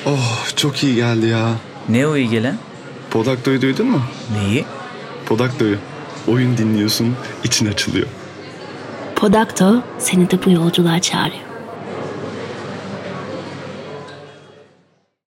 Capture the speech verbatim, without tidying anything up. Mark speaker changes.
Speaker 1: Oh, çok iyi geldi ya.
Speaker 2: Ne o iyi gelen?
Speaker 1: Podakto'yu duydun mu?
Speaker 2: Neyi?
Speaker 1: Podakto'yu. Oyun dinliyorsun, için açılıyor.
Speaker 3: Podakto seni de bu yolculuğa çağırıyor.